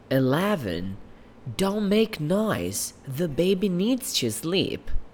11. Don't make noise. The baby needs to sleep.